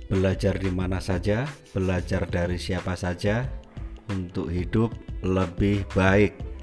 Belajar di mana saja, belajar dari siapa saja untuk hidup lebih baik.